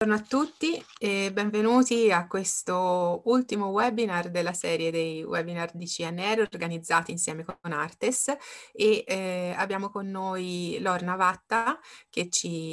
Buongiorno a tutti e benvenuti a questo ultimo webinar della serie dei webinar di CNR organizzati insieme con Artes e abbiamo con noi Lorna Vatta che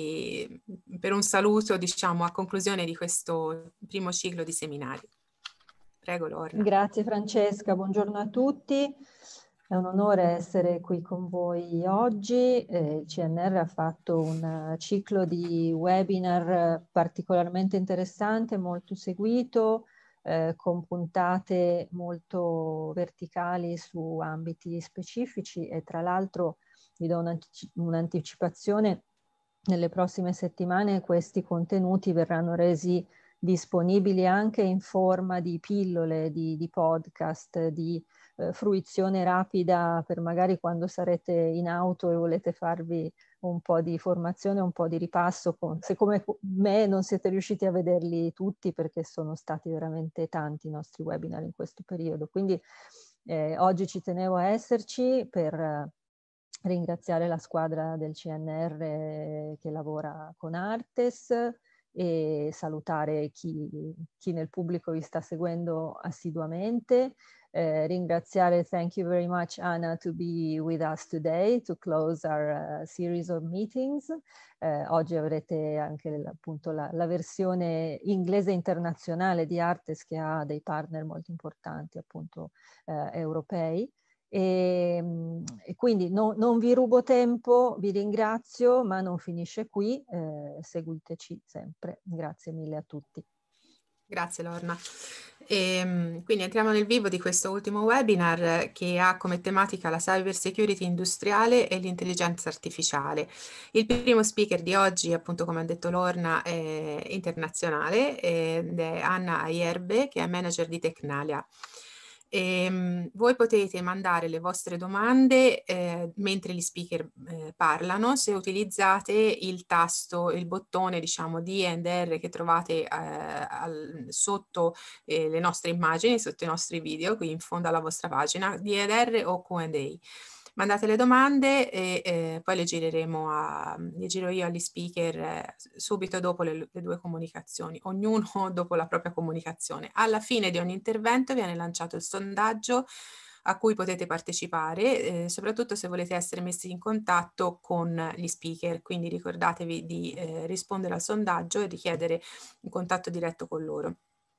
per un saluto diciamo a conclusione di questo primo ciclo di seminari. Prego Lorna. Grazie Francesca, buongiorno a tutti. È un onore essere qui con voi oggi. Il CNR ha fatto un ciclo di webinar particolarmente interessante, molto seguito, con puntate molto verticali su ambiti specifici e tra l'altro vi do un'anticipazione. Nelle prossime settimane questi contenuti verranno resi disponibili anche in forma di pillole, di podcast, di fruizione rapida per magari quando sarete in auto e volete farvi un po' di formazione, un po' di ripasso, se come me non siete riusciti a vederli tutti perché sono stati veramente tanti i nostri webinar in questo periodo. Quindi oggi ci tenevo a esserci per ringraziare la squadra del CNR che lavora con Artes e salutare chi nel pubblico vi sta seguendo assiduamente. Ringraziare, thank you very much Anna to be with us today to close our series of meetings. Oggi avrete anche appunto la versione inglese internazionale di Artes che ha dei partner molto importanti appunto europei. E quindi non vi rubo tempo, vi ringrazio, ma non finisce qui, seguiteci sempre. Grazie mille a tutti. Grazie Lorna. Quindi entriamo nel vivo di questo ultimo webinar che ha come tematica la cyber security industriale e l'intelligenza artificiale. Il primo speaker di oggi, appunto come ha detto Lorna, è internazionale ed è Anna Aierbe, che è manager di Tecnalia. Voi potete mandare le vostre domande mentre gli speaker parlano se utilizzate il tasto, il bottone diciamo D&R che trovate sotto le nostre immagini, sotto i nostri video, qui in fondo alla vostra pagina, D&R o Q&A. Mandate le domande e poi le giro io agli speaker subito dopo le due comunicazioni, ognuno dopo la propria comunicazione. Alla fine di ogni intervento viene lanciato il sondaggio a cui potete partecipare, soprattutto se volete essere messi in contatto con gli speaker, quindi ricordatevi di rispondere al sondaggio e richiedere un contatto diretto con loro.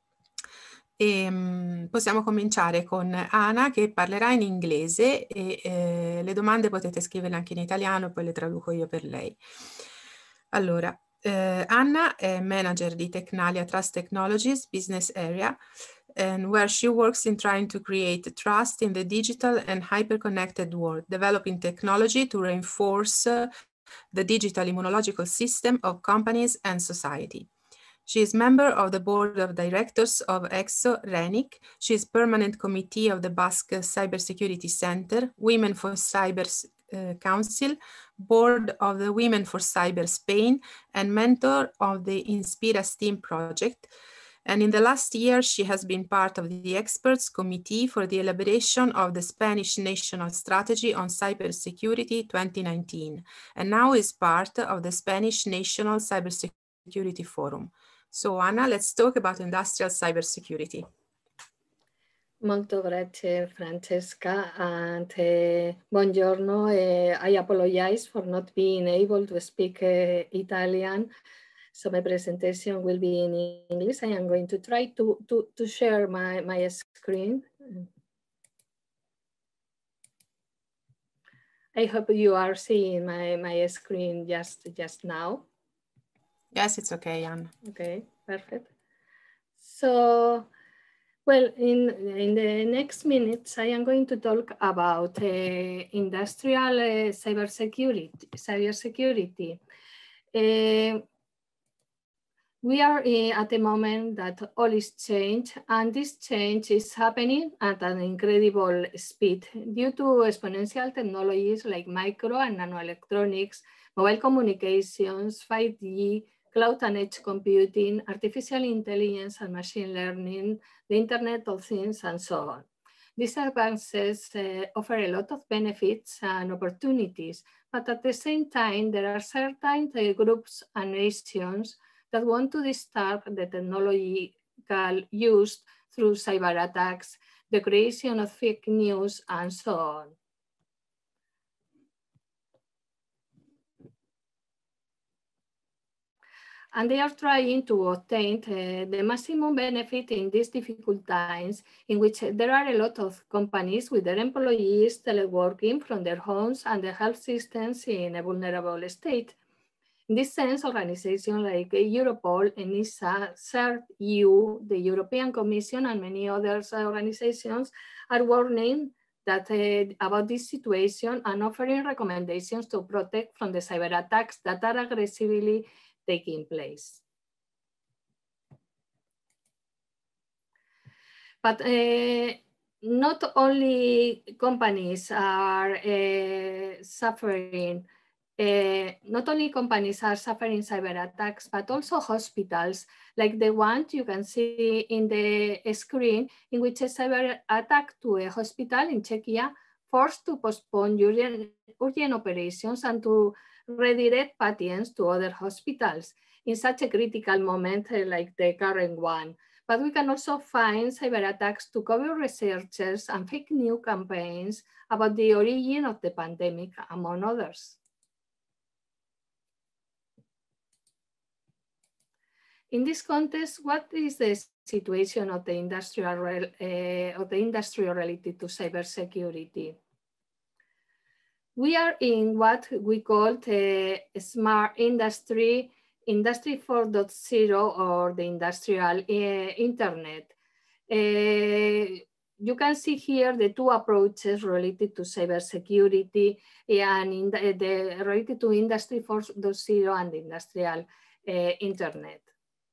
Possiamo cominciare con Ana che parlerà in inglese e le domande potete scriverle anche in italiano e poi le traduco io per lei. Allora, Anna è manager di Tecnalia Trust Technologies Business Area and where she works in trying to create trust in the digital and hyper-connected world, developing technology to reinforce the digital immunological system of companies and society. She is member of the board of directors of EXO RENIC. She is permanent committee of the Basque Cybersecurity Center, Women for Cyber Council, board of the Women for Cyber Spain, and mentor of the Inspira STEAM project. And in the last year, she has been part of the experts committee for the elaboration of the Spanish National Strategy on Cybersecurity 2019, and now is part of the Spanish National Cybersecurity Forum. So Anna, let's talk about industrial cybersecurity. Molto grazie Francesca and buongiorno. I apologize for not being able to speak Italian, so my presentation will be in English. I am going to try to share my screen. I hope you are seeing my screen just now. Yes, it's okay, Anna. Okay, perfect. So, well, in the next minutes, I am going to talk about industrial cybersecurity. We are at a moment that all is changed, and this change is happening at an incredible speed due to exponential technologies like micro and nanoelectronics, mobile communications, 5G, cloud and edge computing, artificial intelligence and machine learning, the Internet of Things, and so on. These advances offer a lot of benefits and opportunities, but at the same time, there are certain groups and nations that want to disturb the technological use through cyber attacks, the creation of fake news, and so on. And they are trying to obtain the maximum benefit in these difficult times in which there are a lot of companies with their employees teleworking from their homes and the health systems in a vulnerable state. In this sense, organizations like Europol, ENISA, CERT-EU, the European Commission, and many other organizations are warning that, about this situation and offering recommendations to protect from the cyber attacks that are aggressively taking place. But not only companies are suffering cyber attacks, but also hospitals, like the one you can see in the screen, in which a cyber attack to a hospital in Czechia forced to postpone urgent operations and to redirect patients to other hospitals in such a critical moment like the current one. But we can also find cyber attacks to cover researchers and fake news campaigns about the origin of the pandemic, among others. In this context, what is the situation of the industry related to cybersecurity? We are in what we call the smart industry, Industry 4.0, or the industrial internet. You can see here the two approaches related to cybersecurity and related to Industry 4.0 and the industrial internet.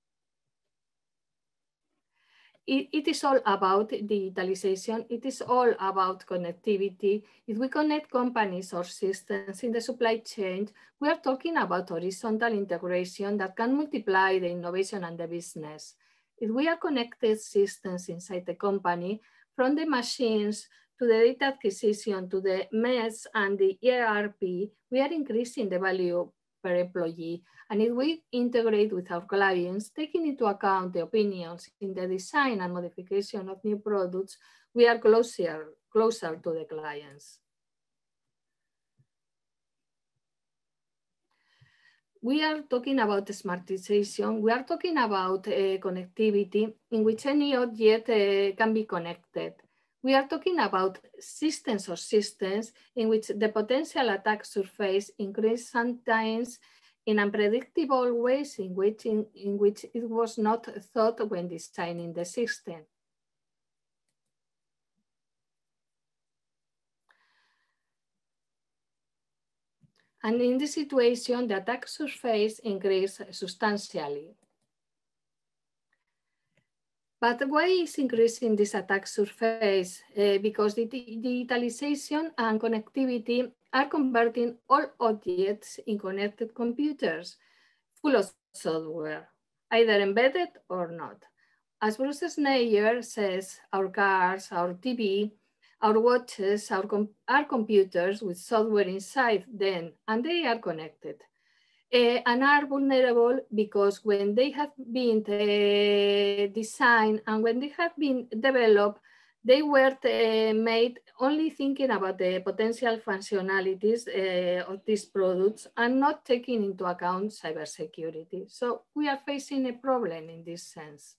It is all about digitalization. It is all about connectivity. If we connect companies or systems in the supply chain, we are talking about horizontal integration that can multiply the innovation and the business. If we are connected systems inside the company, from the machines to the data acquisition to the MES and the ERP, we are increasing the value per employee. And if we integrate with our clients, taking into account the opinions in the design and modification of new products, we are closer to the clients. We are talking about smartization. We are talking about connectivity in which any object can be connected. We are talking about systems or systems in which the potential attack surface increases sometimes in unpredictable ways in which it was not thought when designing the system. And in this situation, the attack surface increased substantially. But why is increasing this attack surface? Because the digitalization and connectivity are converting all objects in connected computers full of software, either embedded or not. As Bruce Schneier says, our cars, our TV, our watches are computers with software inside them, and they are connected. And are vulnerable because when they have been designed and when they have been developed, they were made only thinking about the potential functionalities of these products and not taking into account cybersecurity. So we are facing a problem in this sense.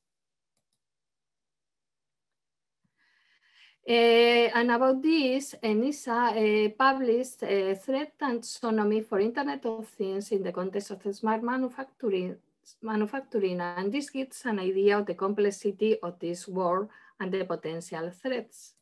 And about this, ENISA published a threat taxonomy for Internet of Things in the context of smart manufacturing, and this gives an idea of the complexity of this world and the potential threats.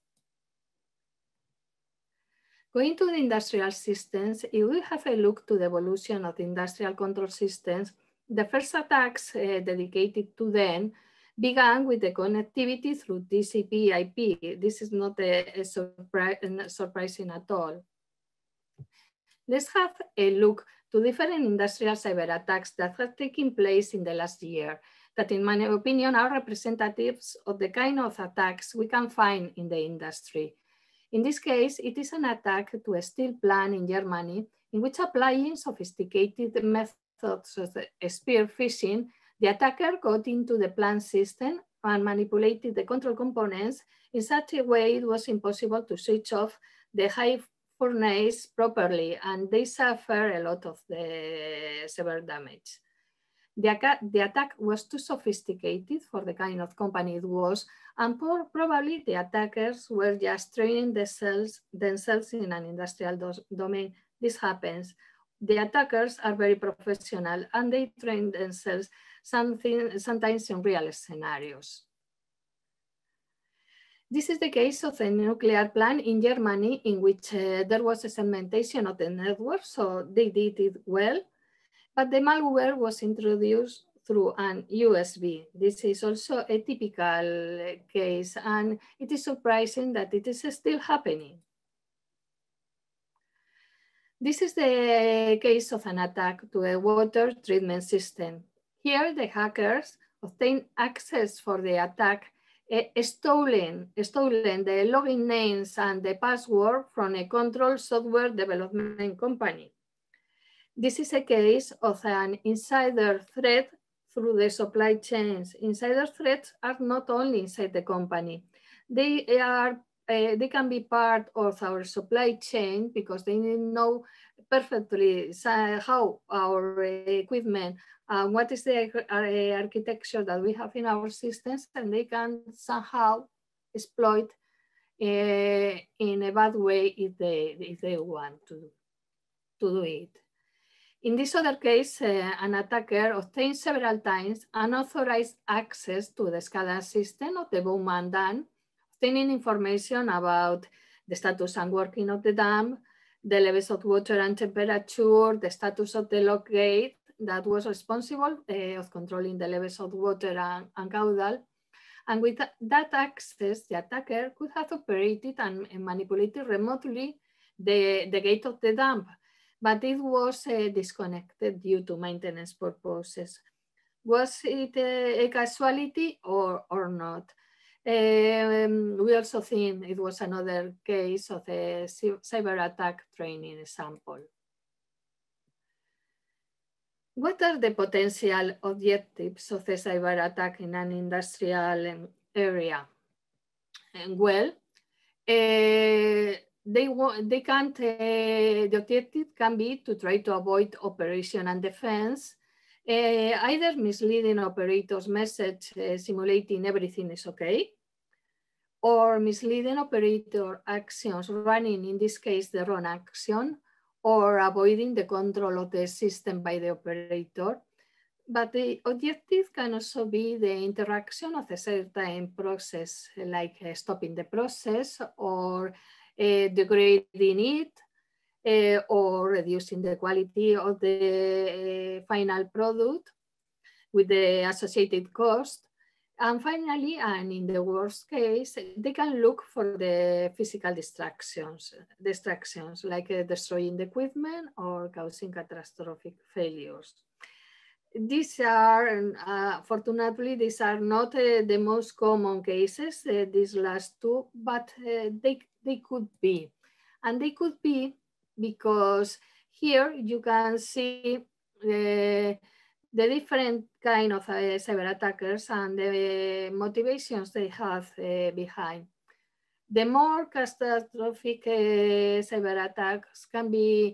Going to the industrial systems, if we have a look to the evolution of the industrial control systems, the first attacks dedicated to them began with the connectivity through TCP/IP. This is not surprising at all. Let's have a look to different industrial cyber attacks that have taken place in the last year, that in my opinion are representatives of the kind of attacks we can find in the industry. In this case, it is an attack to a steel plant in Germany, in which applying sophisticated methods of spear phishing, The attacker got into the plant system and manipulated the control components in such a way it was impossible to switch off the high furnace properly, and they suffer a lot of the severe damage. The attack was too sophisticated for the kind of company it was, and probably the attackers were just training themselves in an industrial domain. This happens. The attackers are very professional and they train themselves sometimes in real scenarios. This is the case of a nuclear plant in Germany in which there was a segmentation of the network, so they did it well, but the malware was introduced through an USB. This is also a typical case, and it is surprising that it is still happening. This is the case of an attack to a water treatment system. Here, the hackers obtained access for the attack, stolen the login names and the password from a control software development company. This is a case of an insider threat through the supply chains. Insider threats are not only inside the company. They can be part of our supply chain because they know perfectly how our equipment, what is the architecture that we have in our systems, and they can somehow exploit in a bad way if they want to do it. In this other case, an attacker obtained several times unauthorized access to the SCADA system of the Bowman Dam, obtaining information about the status and working of the dam, the levels of water and temperature, the status of the lock gate that was responsible of controlling the levels of water and caudal. And with that access, the attacker could have operated and manipulated remotely the gate of the dam, but it was disconnected due to maintenance purposes. Was it a casualty or not? We also think it was another case of a cyber attack training example. What are the potential objectives of a cyber attack in an industrial area? Well, the objective can be to try to avoid operation and defense, either misleading operators' message simulating everything is okay, or misleading operator actions running, in this case, the wrong action, or avoiding the control of the system by the operator. But the objective can also be the interaction of a certain process, like stopping the process or degrading it, or reducing the quality of the final product with the associated cost. And finally, and in the worst case, they can look for the physical distractions like destroying the equipment or causing catastrophic failures. These are, fortunately, these are not the most common cases, these last two, but they could be. And they could be because here you can see the different kind of cyber attackers and the motivations they have behind. The more catastrophic cyber attacks can be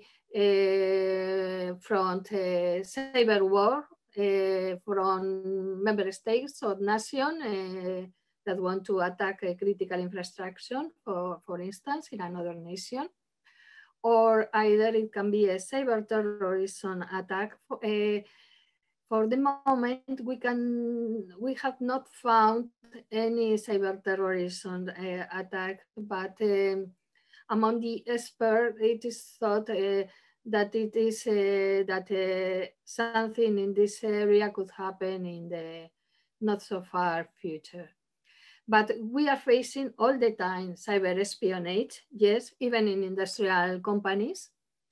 from cyber war, from member states or nations that want to attack a critical infrastructure, for instance, in another nation. Or either it can be a cyber terrorism attack. For the moment, we have not found any cyber terrorism attack, but among the experts, it is thought that it is something in this area could happen in the not so far future. But we are facing all the time cyber espionage, yes, even in industrial companies.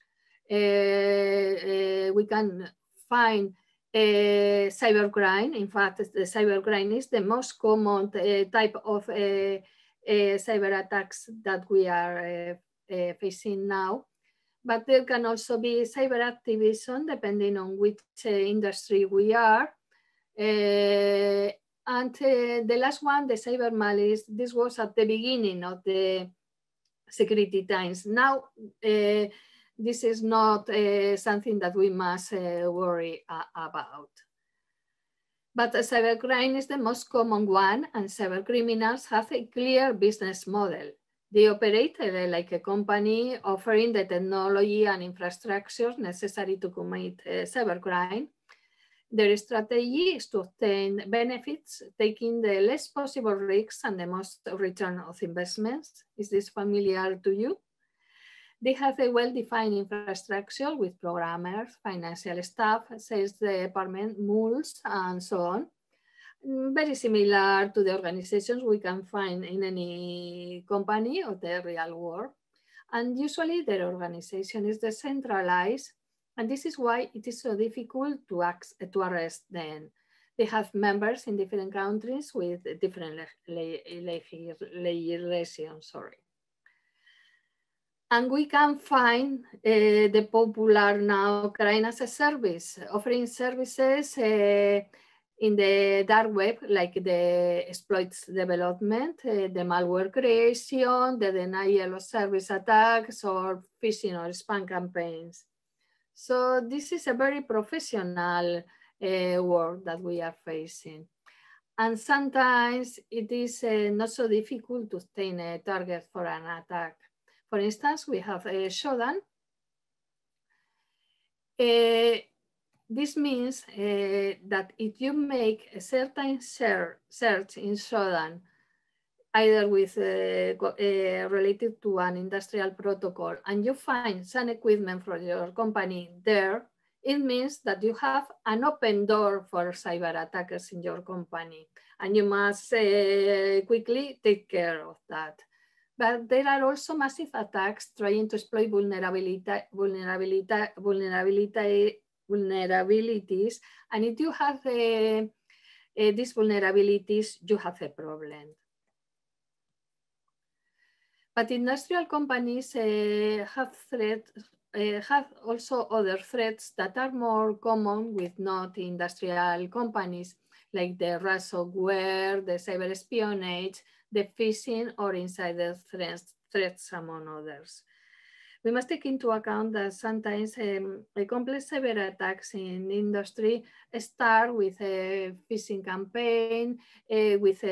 We can find cybercrime. In fact, the cybercrime is the most common type of cyber attacks that we are facing now. But there can also be cyber activism depending on which industry we are. And the last one, the cyber malice, this was at the beginning of the security times. Now, this is not something that we must worry about. But cybercrime is the most common one, and cybercriminals have a clear business model. They operate like a company offering the technology and infrastructure necessary to commit cybercrime. Their strategy is to obtain benefits, taking the less possible risks and the most return of investments. Is this familiar to you? They have a well-defined infrastructure with programmers, financial staff, sales department, mules, and so on. Very similar to the organizations we can find in any company of the real world. And usually their organization is decentralized, and this is why it is so difficult to arrest them. They have members in different countries with different legislation, And we can find the popular now crime as a service, offering services in the dark web, like the exploits development, the malware creation, the denial of service attacks, or phishing or spam campaigns. So this is a very professional world that we are facing. And sometimes it is not so difficult to obtain a target for an attack. For instance, we have Shodan. This means that if you make a certain search in Shodan, either with related to an industrial protocol, and you find some equipment for your company there, it means that you have an open door for cyber attackers in your company, and you must quickly take care of that. But there are also massive attacks trying to exploit vulnerabilities, and if you have these vulnerabilities, you have a problem. But industrial companies have also other threats that are more common with not industrial companies, like the ransomware, the cyber espionage, the phishing, or insider threats, among others. We must take into account that sometimes complex cyber attacks in industry start with a phishing campaign, with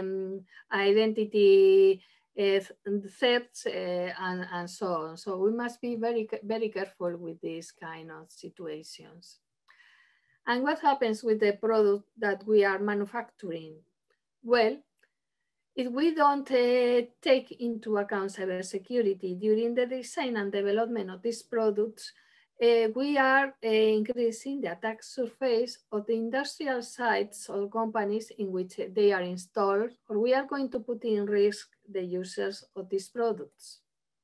identity thefts, and so on. So we must be very, very careful with these kind of situations. And what happens with the product that we are manufacturing? Well, if we don't take into account cybersecurity during the design and development of these products, we are increasing the attack surface of the industrial sites or companies in which they are installed, or we are going to put in risk the users of these products.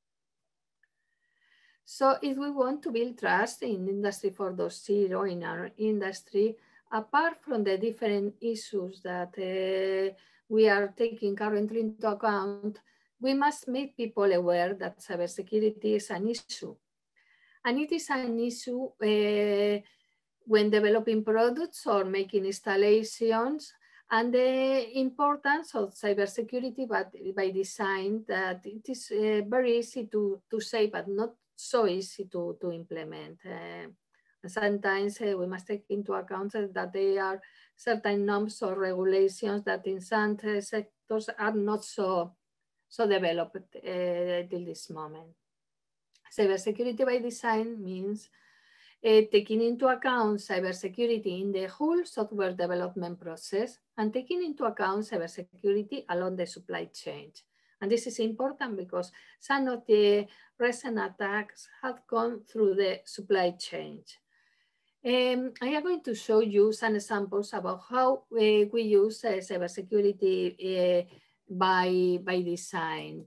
So if we want to build trust in Industry 4.0 in our industry, apart from the different issues that we are taking currently into account, we must make people aware that cybersecurity is an issue. And it is an issue when developing products or making installations, and the importance of cybersecurity by design, that it is very easy to say, but not so easy to implement. Sometimes we must take into account that there are certain norms or regulations that in some sectors are not so developed till this moment. Cybersecurity by design means taking into account cybersecurity in the whole software development process and taking into account cybersecurity along the supply chain. And this is important because some of the recent attacks have gone through the supply chain. I am going to show you some examples about how we use cybersecurity by design.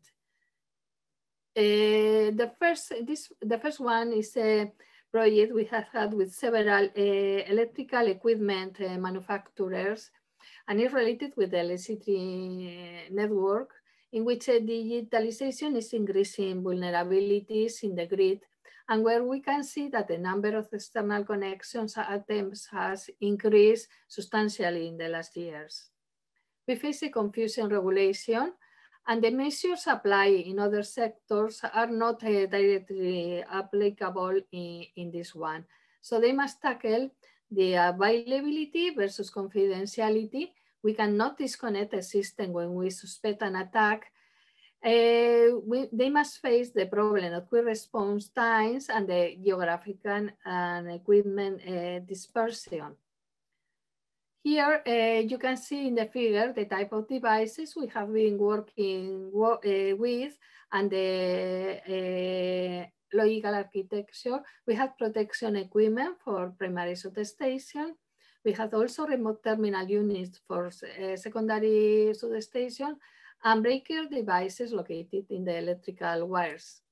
The first one is a project we have had with several electrical equipment manufacturers, and it's related with the electricity network, in which digitalization is increasing vulnerabilities in the grid, and where we can see that the number of external connections attempts has increased substantially in the last years. We face a confusing regulation, and the measures applied in other sectors are not directly applicable in this one. So they must tackle the availability versus confidentiality. We cannot disconnect a system when we suspect an attack. They must face the problem of quick response times and the geographical and equipment dispersion. Here you can see in the figure the type of devices we have been working with and the logical architecture. We have protection equipment for primary substation. We have also remote terminal units for secondary substation and breaker devices located in the electrical wires.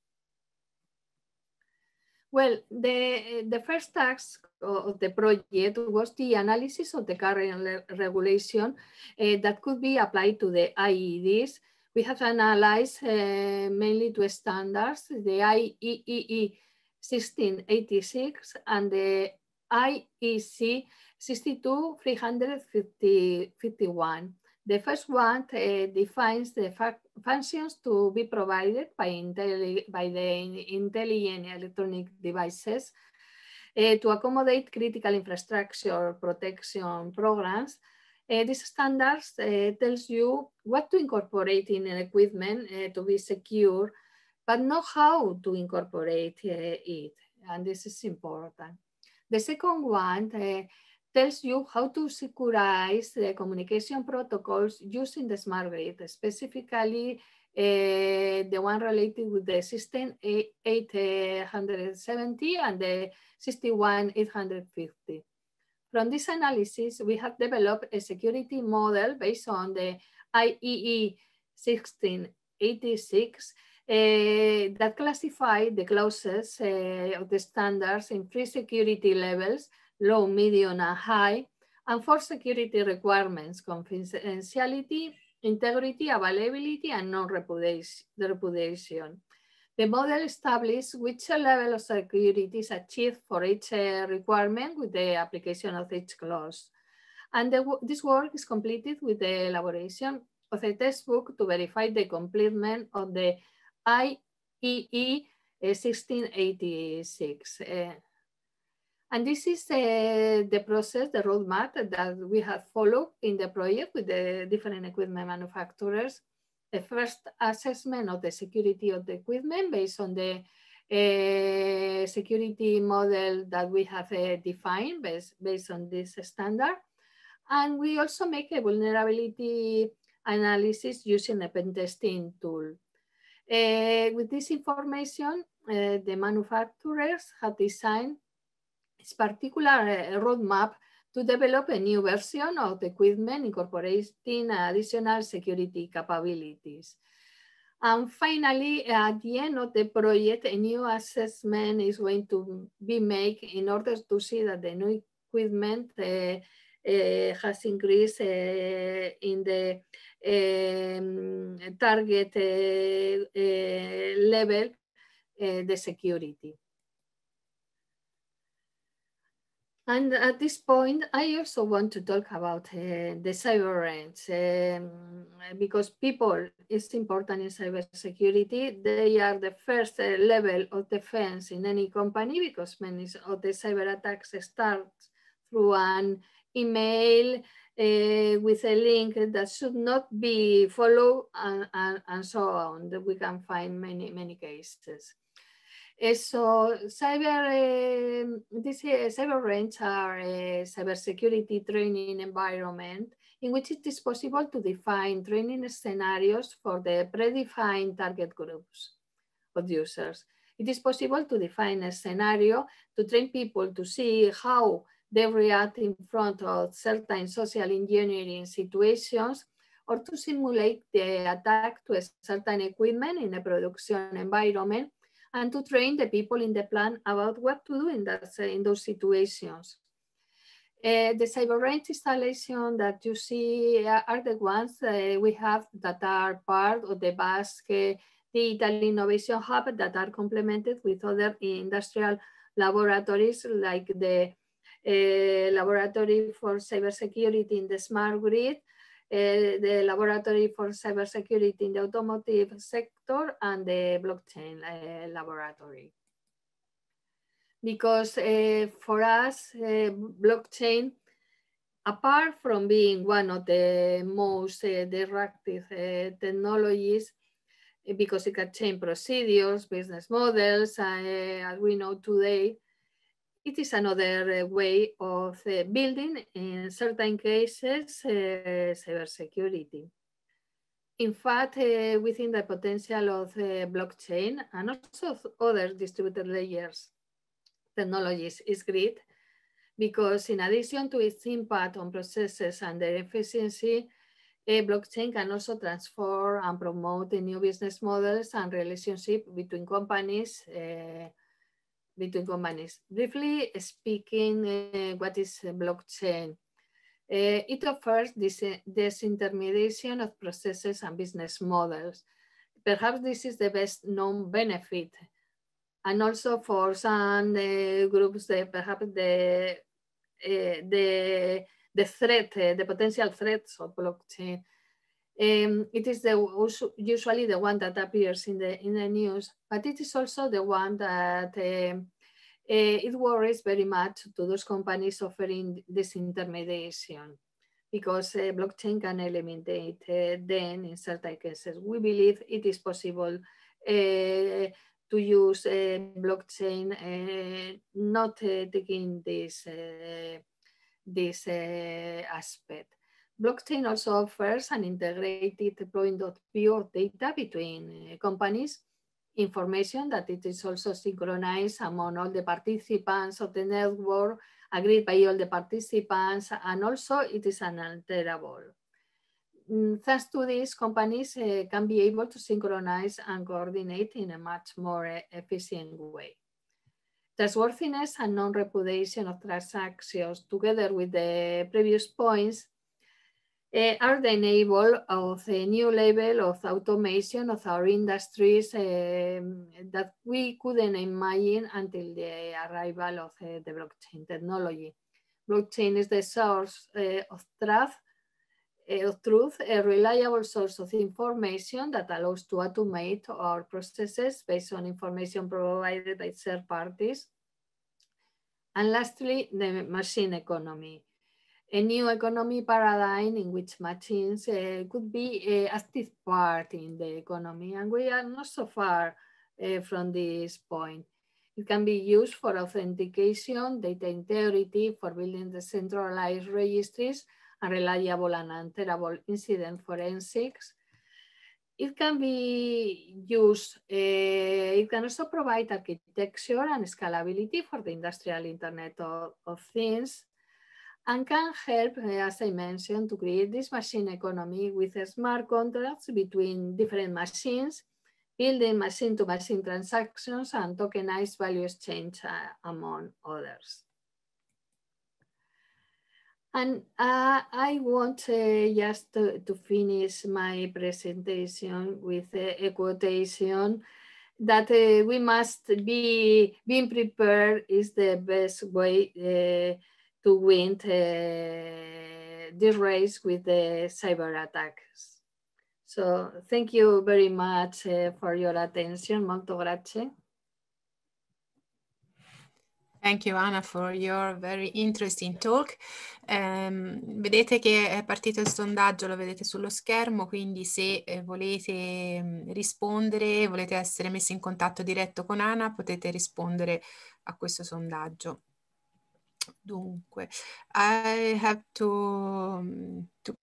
Well, the first task of the project was the analysis of the current regulation that could be applied to the IEDs. We have analyzed mainly two standards, the IEEE 1686 and the IEC 62351. The first one defines the functions to be provided by the intelligent electronic devices to accommodate critical infrastructure protection programs. This standards tells you what to incorporate in an equipment to be secure, but not how to incorporate it, and this is important. The second one tells you how to securize the communication protocols using the smart grid, specifically the one related with the system 870 and the 61850. From this analysis, we have developed a security model based on the IEEE 1686 that classify the clauses of the standards in 3 security levels: low, medium, and high, and 4 security requirements: confidentiality, integrity, availability, and non-repudiation. The model establishes which level of security is achieved for each requirement with the application of each clause. And this work is completed with the elaboration of a textbook to verify the completion of the IEEE 1686. And this is the process, the roadmap that we have followed in the project with the different equipment manufacturers. The first assessment of the security of the equipment based on the security model that we have defined based on this standard. And we also make a vulnerability analysis using a pen testing tool. With this information, the manufacturers have designed this particular roadmap to develop a new version of the equipment incorporating additional security capabilities. And finally, at the end of the project, a new assessment is going to be made in order to see that the new equipment has increased in the target level, the security. And at this point, I also want to talk about the cyber range because people is important in cybersecurity. They are the first level of defense in any company because many of the cyber attacks start through an email with a link that should not be followed and so on. We can find many cases. So these cyber range are a cybersecurity training environment in which it is possible to define training scenarios for the predefined target groups of users. It is possible to define a scenario to train people to see how they react in front of certain social engineering situations or to simulate the attack to a certain equipment in a production environment and to train the people in the plant about what to do in those situations. The cyber range installation that you see are the ones we have that are part of the Basque the Italy Innovation Hub that are complemented with other industrial laboratories like the Laboratory for Cybersecurity in the Smart Grid, the Laboratory for Cybersecurity in the Automotive Sector, and the Blockchain Laboratory. Because for us, blockchain, apart from being one of the most disruptive technologies, because it can change procedures, business models, as we know today, it is another way of building, in certain cases, cybersecurity. In fact, within the potential of blockchain and also other distributed layers technologies is great, because in addition to its impact on processes and their efficiency, a blockchain can also transform and promote the new business models and relationship between companies. Briefly speaking, what is blockchain? It offers this disintermediation of processes and business models. Perhaps this is the best known benefit. And also for some groups, perhaps the threat, the potential threats of blockchain. It is usually the one that appears in the news, but it is also the one that it worries very much to those companies offering this intermediation, because blockchain can eliminate them in certain cases. We believe it is possible to use blockchain, not taking this aspect. Blockchain also offers an integrated point of view of data between companies, information that it is also synchronized among all the participants of the network, agreed by all the participants, and also it is unalterable. Thanks to this, companies can be able to synchronize and coordinate in a much more efficient way. Trustworthiness and non-repudiation of transactions, together with the previous points, are the enable of a new level of automation of our industries that we couldn't imagine until the arrival of the blockchain technology. Blockchain is the source of truth, a reliable source of information that allows to automate our processes based on information provided by third parties. And lastly, the machine economy, a new economy paradigm in which machines could be an active part in the economy. And we are not so far from this point. It can be used for authentication, data integrity, for building decentralized registries, and reliable and unalterable incident forensics. It can be used, it can also provide architecture and scalability for the industrial Internet of Things, and can help, as I mentioned, to create this machine economy with smart contracts between different machines, building machine-to-machine transactions, and tokenized value exchange, among others. And I want just to finish my presentation with a quotation that we must be being prepared is the best way to win this race with the cyber attacks. So thank you very much for your attention. Molto grazie. Thank you Anna for your very interesting talk. Vedete che è partito il sondaggio, lo vedete sullo schermo, quindi se volete rispondere, volete essere messi in contatto diretto con Anna, potete rispondere a questo sondaggio. Dunque, I have to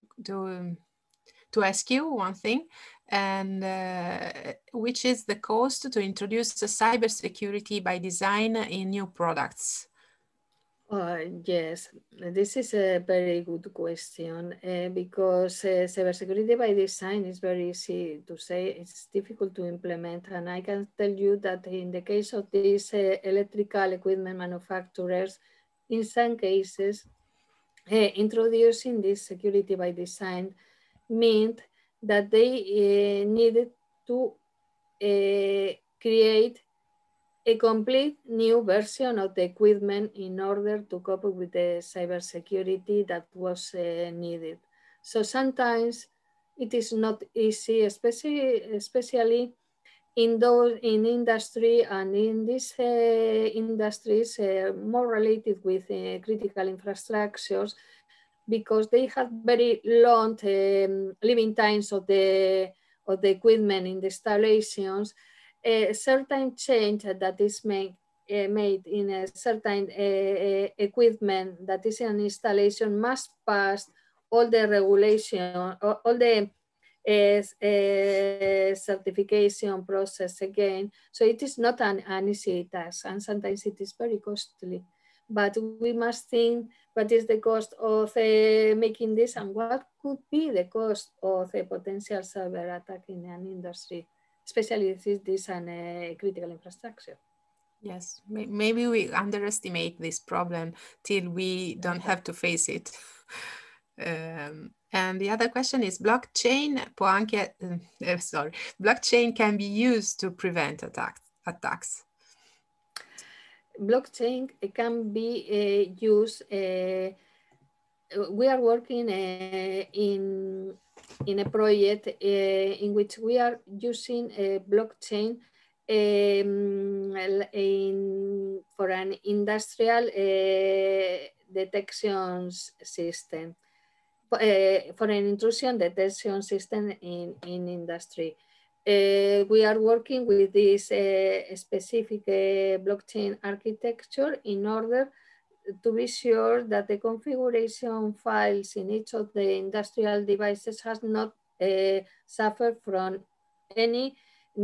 ask you one thing, and which is the cost to introduce cybersecurity by design in new products? Yes, this is a very good question because cybersecurity by design is very easy to say. It's difficult to implement, and I can tell you that in the case of these electrical equipment manufacturers, in some cases, introducing this security by design meant that they needed to create a complete new version of the equipment in order to cope with the cybersecurity that was needed. So sometimes it is not easy, especially in industry and in these industries more related with critical infrastructures, because they have very long living times of the equipment in the installations. A certain change that is made in a certain equipment that is an installation must pass all the regulation, all the certification process again. So it is not an easy task, and sometimes it is very costly. But we must think what is the cost of making this, and what could be the cost of a potential cyber attack in an industry, especially if this is a critical infrastructure. Yes, maybe we underestimate this problem till we don't have to face it. And the other question is, blockchain can be used to prevent attacks. Blockchain can be used. We are working in a project in which we are using a blockchain for an industrial detection system, for an intrusion detection system in industry. We are working with this specific blockchain architecture in order to be sure that the configuration files in each of the industrial devices has not suffered from any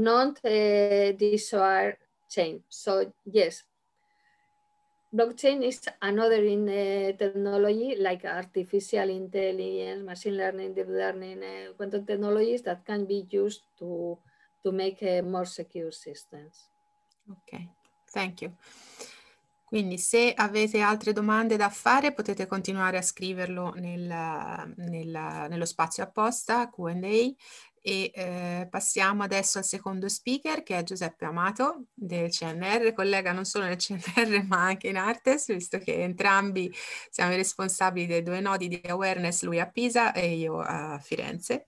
non-desired change. So yes, blockchain is another technology like artificial intelligence, machine learning, deep learning, quantum technologies that can be used to make more secure systems. Ok, thank you. Quindi se avete altre domande da fare potete continuare a scriverlo nello spazio apposta Q&A, e passiamo adesso al secondo speaker, che è Giuseppe Amato del CNR, collega non solo nel CNR ma anche in Artes, visto che entrambi siamo i responsabili dei 2 nodi di awareness, lui a Pisa e io a Firenze.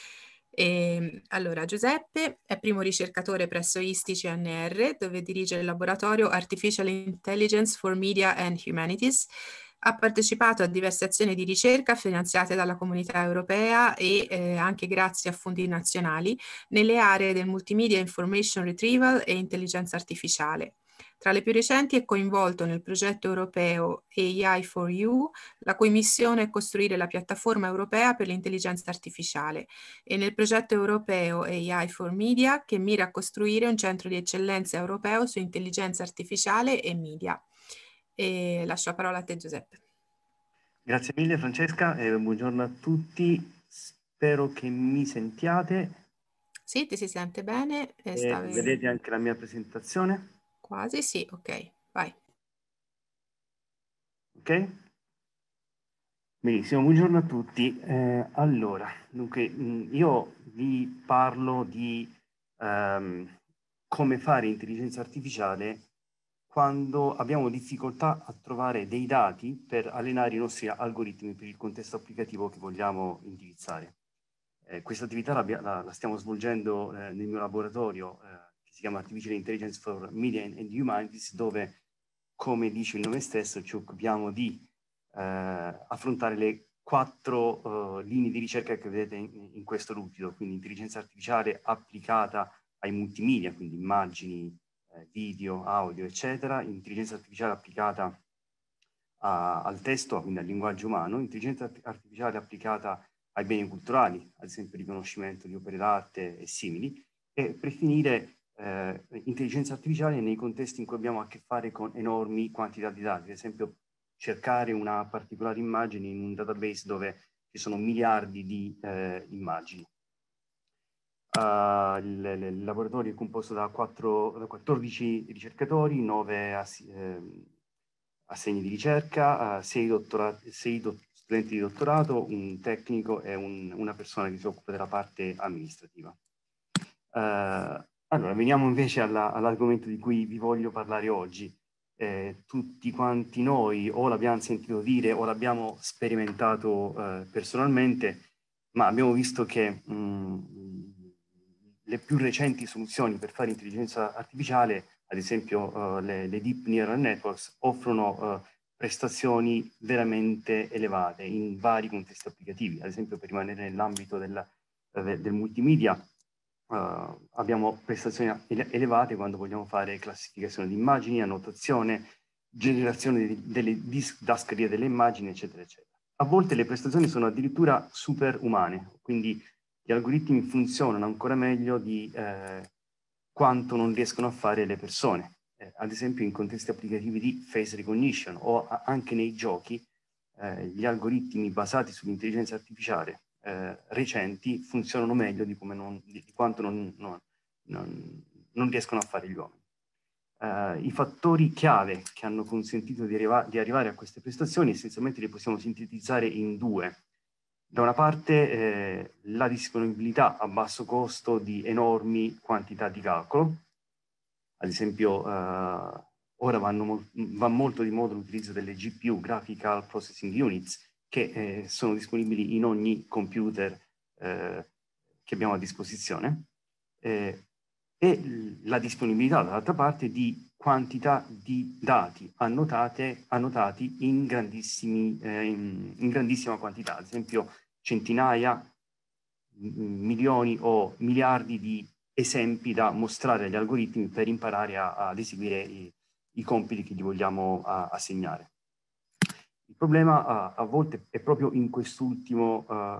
Allora, Giuseppe è primo ricercatore presso ISTI CNR, dove dirige il laboratorio Artificial Intelligence for Media and Humanities. Ha partecipato a diverse azioni di ricerca finanziate dalla Comunità Europea e anche grazie a fondi nazionali nelle aree del multimedia information retrieval e intelligenza artificiale. Tra le più recenti è coinvolto nel progetto europeo AI4U, la cui missione è costruire la piattaforma europea per l'intelligenza artificiale, e nel progetto europeo AI4Media, che mira a costruire un centro di eccellenza europeo su intelligenza artificiale e media. E lascio la parola a te, Giuseppe. Grazie mille Francesca e buongiorno a tutti, spero che mi sentiate. Sì, ti si sente bene. Vedete anche la mia presentazione? Quasi, sì, ok, vai. Ok? Benissimo, buongiorno a tutti. Allora, dunque, io vi parlo di come fare intelligenza artificiale quando abbiamo difficoltà a trovare dei dati per allenare i nostri algoritmi per il contesto applicativo che vogliamo indirizzare. Questa attività la stiamo svolgendo nel mio laboratorio che si chiama Artificial Intelligence for Media and Humanities, dove, come dice il nome stesso, ci occupiamo di affrontare le 4 linee di ricerca che vedete in questo lucido, quindi intelligenza artificiale applicata ai multimedia, quindi immagini, video, audio, eccetera, intelligenza artificiale applicata al testo, quindi al linguaggio umano, intelligenza artificiale applicata ai beni culturali, ad esempio riconoscimento di opere d'arte e simili, e per finire intelligenza artificiale nei contesti in cui abbiamo a che fare con enormi quantità di dati, ad esempio cercare una particolare immagine in un database dove ci sono miliardi di immagini. Il laboratorio è composto da 14 ricercatori, 9 assegni di ricerca, 6 studenti di dottorato, un tecnico e una persona che si occupa della parte amministrativa. Allora, veniamo invece all'argomento di cui vi voglio parlare oggi. Tutti quanti noi o l'abbiamo sentito dire o l'abbiamo sperimentato personalmente, ma abbiamo visto che le più recenti soluzioni per fare intelligenza artificiale, ad esempio le Deep Neural Networks, offrono prestazioni veramente elevate in vari contesti applicativi. Ad esempio, per rimanere nell'ambito del multimedia, abbiamo prestazioni elevate quando vogliamo fare classificazione di immagini, annotazione, generazione delle didascalie delle immagini, eccetera, eccetera. A volte le prestazioni sono addirittura superumane, quindi gli algoritmi funzionano ancora meglio di quanto non riescono a fare le persone. Ad esempio in contesti applicativi di face recognition o anche nei giochi, gli algoritmi basati sull'intelligenza artificiale recenti funzionano meglio di quanto non riescono a fare gli uomini. I fattori chiave che hanno consentito di arrivare a queste prestazioni essenzialmente li possiamo sintetizzare in due. Da una parte la disponibilità a basso costo di enormi quantità di calcolo, ad esempio ora va molto di moda l'utilizzo delle GPU, Graphical Processing Units, che sono disponibili in ogni computer che abbiamo a disposizione, e la disponibilità dall'altra parte di quantità di dati annotati in grandissima quantità, ad esempio centinaia, milioni o miliardi di esempi da mostrare agli algoritmi per imparare ad eseguire i compiti che gli vogliamo assegnare. Il problema a volte è proprio in quest'ultimo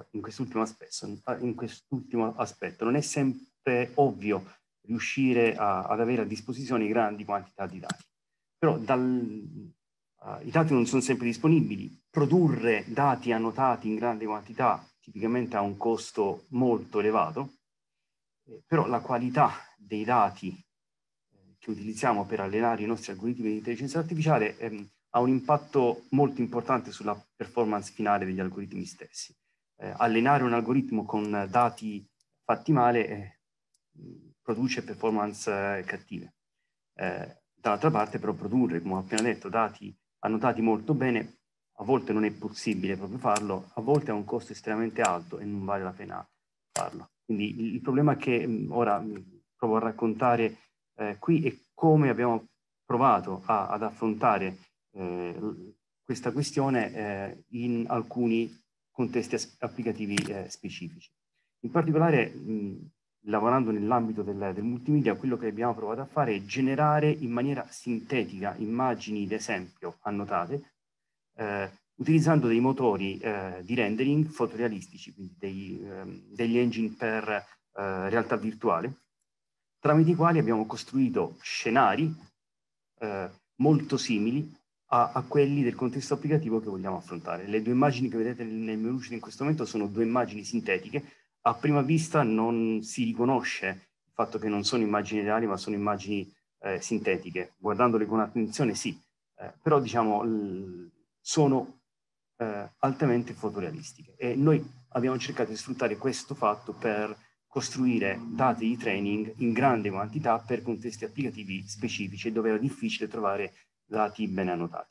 aspetto. Non è sempre ovvio riuscire ad avere a disposizione grandi quantità di dati. Però i dati non sono sempre disponibili. Produrre dati annotati in grande quantità tipicamente ha un costo molto elevato, però la qualità dei dati che utilizziamo per allenare i nostri algoritmi di intelligenza artificiale ha un impatto molto importante sulla performance finale degli algoritmi stessi. Allenare un algoritmo con dati fatti male produce performance cattive. Dall'altra parte però produrre, come ho appena detto, dati annotati molto bene, a volte non è possibile proprio farlo, a volte ha un costo estremamente alto e non vale la pena farlo. Quindi il problema che ora provo a raccontare qui è come abbiamo provato ad affrontare questa questione in alcuni contesti applicativi specifici. In particolare, lavorando nell'ambito del multimedia, quello che abbiamo provato a fare è generare in maniera sintetica immagini d'esempio annotate, utilizzando dei motori di rendering fotorealistici, quindi degli engine per realtà virtuale, tramite i quali abbiamo costruito scenari molto simili a quelli del contesto applicativo che vogliamo affrontare. Le due immagini che vedete nel menu uscito in questo momento sono due immagini sintetiche. A prima vista non si riconosce il fatto che non sono immagini reali, ma sono immagini sintetiche. Guardandole con attenzione sì, però diciamo sono altamente fotorealistiche. E noi abbiamo cercato di sfruttare questo fatto per costruire dati di training in grande quantità per contesti applicativi specifici dove era difficile trovare dati ben annotati.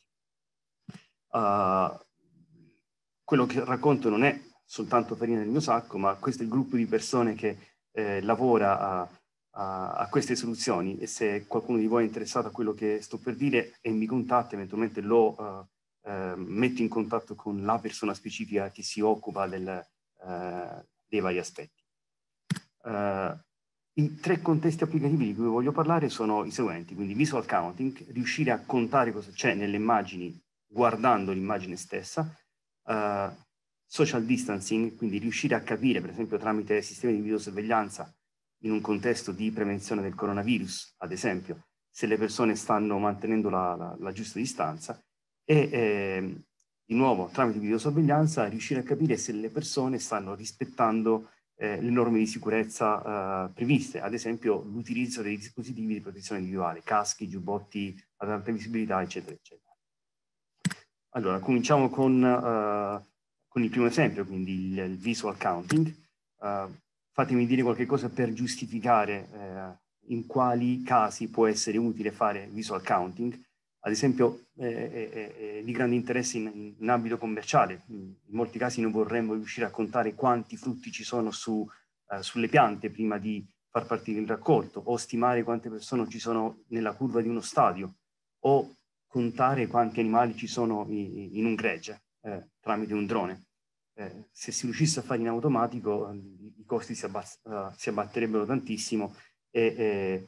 Quello che racconto non è soltanto farina del mio sacco, ma questo è il gruppo di persone che lavora a queste soluzioni, e se qualcuno di voi è interessato a quello che sto per dire e mi contatta, eventualmente lo metto in contatto con la persona specifica che si occupa dei vari aspetti. I tre contesti applicativi di cui voglio parlare sono i seguenti, quindi visual counting, riuscire a contare cosa c'è nelle immagini guardando l'immagine stessa, social distancing, quindi riuscire a capire, per esempio tramite sistemi di videosorveglianza in un contesto di prevenzione del coronavirus, ad esempio, se le persone stanno mantenendo la giusta distanza, e di nuovo tramite videosorveglianza riuscire a capire se le persone stanno rispettando le norme di sicurezza previste, ad esempio l'utilizzo dei dispositivi di protezione individuale, caschi, giubbotti ad alta visibilità, eccetera, eccetera. Allora, cominciamo con il primo esempio, quindi il visual counting. Fatemi dire qualche cosa per giustificare in quali casi può essere utile fare visual counting, ad esempio di grande interesse in ambito commerciale. In molti casi noi vorremmo riuscire a contare quanti frutti ci sono sulle piante prima di far partire il raccolto, o stimare quante persone ci sono nella curva di uno stadio, o contare quanti animali ci sono in un gregge tramite un drone. Se si riuscisse a fare in automatico, i costi si abbatterebbero tantissimo e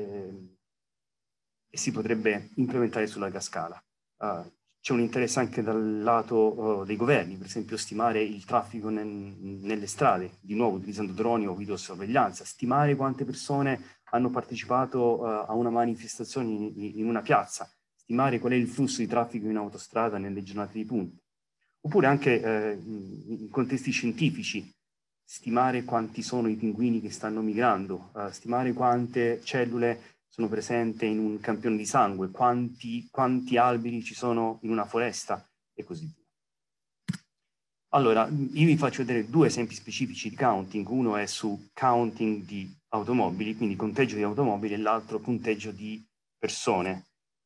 si potrebbe implementare su larga scala. C'è un interesse anche dal lato dei governi, per esempio stimare il traffico nelle strade, di nuovo utilizzando droni o videosorveglianza, stimare quante persone hanno partecipato a una manifestazione in una piazza, stimare qual è il flusso di traffico in autostrada nelle giornate di punta. Oppure anche in contesti scientifici, stimare quanti sono i pinguini che stanno migrando, stimare quante cellule sono presenti in un campione di sangue, quanti alberi ci sono in una foresta e così via. Allora, io vi faccio vedere due esempi specifici di counting. Uno è su counting di automobili, quindi conteggio di automobili, e l'altro conteggio di persone.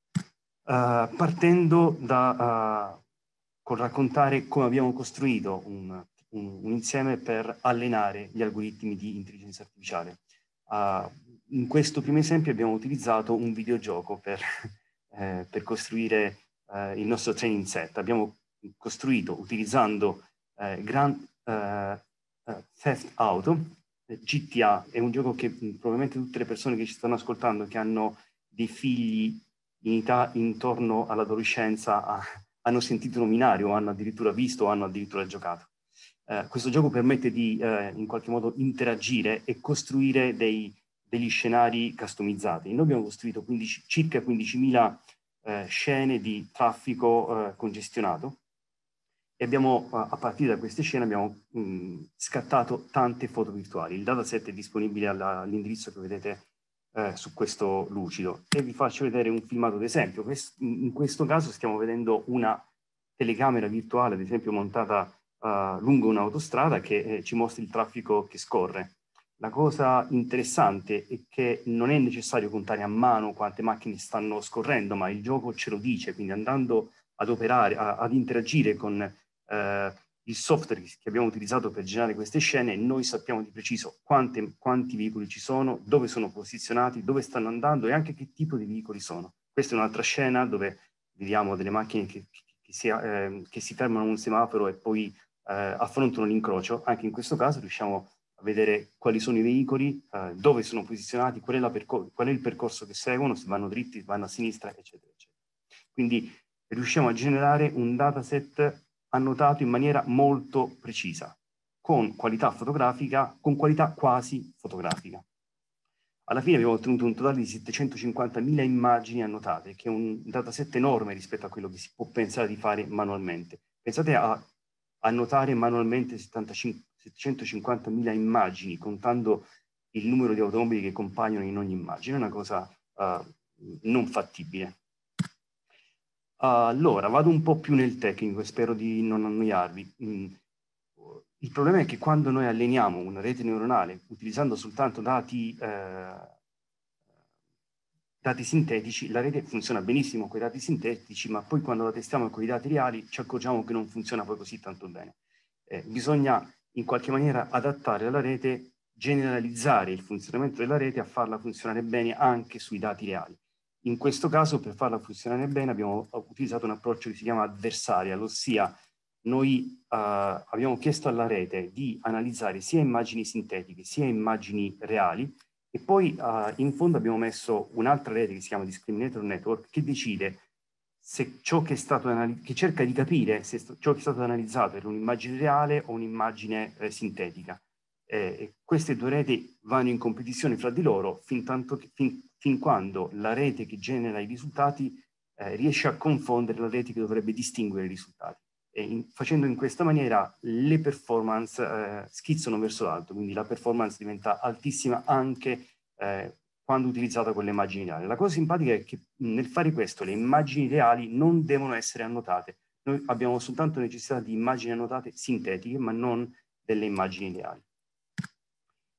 Partendo col raccontare come abbiamo costruito un insieme per allenare gli algoritmi di intelligenza artificiale. In questo primo esempio abbiamo utilizzato un videogioco per costruire il nostro training set. Abbiamo costruito utilizzando Grand Theft Auto, GTA. È un gioco che probabilmente tutte le persone che ci stanno ascoltando, che hanno dei figli in età intorno all'adolescenza, hanno sentito nominare o hanno addirittura visto o hanno addirittura giocato. Questo gioco permette di in qualche modo interagire e costruire degli scenari customizzati. Noi abbiamo costruito circa 15.000 scene di traffico congestionato e abbiamo, a partire da queste scene, abbiamo scattato tante foto virtuali. Il dataset è disponibile all'indirizzo che vedete su questo lucido, e vi faccio vedere un filmato d'esempio. In questo caso stiamo vedendo una telecamera virtuale, ad esempio montata lungo un'autostrada, che ci mostra il traffico che scorre. La cosa interessante è che non è necessario contare a mano quante macchine stanno scorrendo, ma il gioco ce lo dice, quindi andando ad operare, ad interagire con il software che abbiamo utilizzato per generare queste scene, noi sappiamo di preciso quanti veicoli ci sono, dove sono posizionati, dove stanno andando e anche che tipo di veicoli sono. Questa è un'altra scena dove vediamo delle macchine che si fermano a un semaforo e poi affrontano l'incrocio. Anche in questo caso riusciamo a vedere quali sono i veicoli, dove sono posizionati, qual è il percorso che seguono, se vanno dritti, vanno a sinistra, eccetera, eccetera. Quindi riusciamo a generare un dataset annotato in maniera molto precisa, con qualità fotografica, con qualità quasi fotografica. Alla fine abbiamo ottenuto un totale di 750.000 immagini annotate, che è un dataset enorme rispetto a quello che si può pensare di fare manualmente. Pensate a annotare manualmente 750.000 immagini, contando il numero di automobili che compaiono in ogni immagine. È una cosa non fattibile. Allora, vado un po' più nel tecnico e spero di non annoiarvi. Il problema è che quando noi alleniamo una rete neuronale utilizzando soltanto dati sintetici, la rete funziona benissimo con i dati sintetici, ma poi quando la testiamo con i dati reali ci accorgiamo che non funziona poi così tanto bene. Bisogna in qualche maniera adattare la rete, generalizzare il funzionamento della rete a farla funzionare bene anche sui dati reali. In questo caso, per farla funzionare bene, abbiamo utilizzato un approccio che si chiama adversarial, ossia noi abbiamo chiesto alla rete di analizzare sia immagini sintetiche sia immagini reali, e poi in fondo abbiamo messo un'altra rete che si chiama Discriminator Network, che decide se ciò che è stato che cerca di capire se ciò che è stato analizzato era un'immagine reale o un'immagine sintetica. Queste due reti vanno in competizione fra di loro fin quando la rete che genera i risultati riesce a confondere la rete che dovrebbe distinguere i risultati. Facendo in questa maniera le performance schizzano verso l'alto, quindi la performance diventa altissima anche quando utilizzata con le immagini reali. La cosa simpatica è che nel fare questo le immagini reali non devono essere annotate. Noi abbiamo soltanto necessità di immagini annotate sintetiche, ma non delle immagini reali.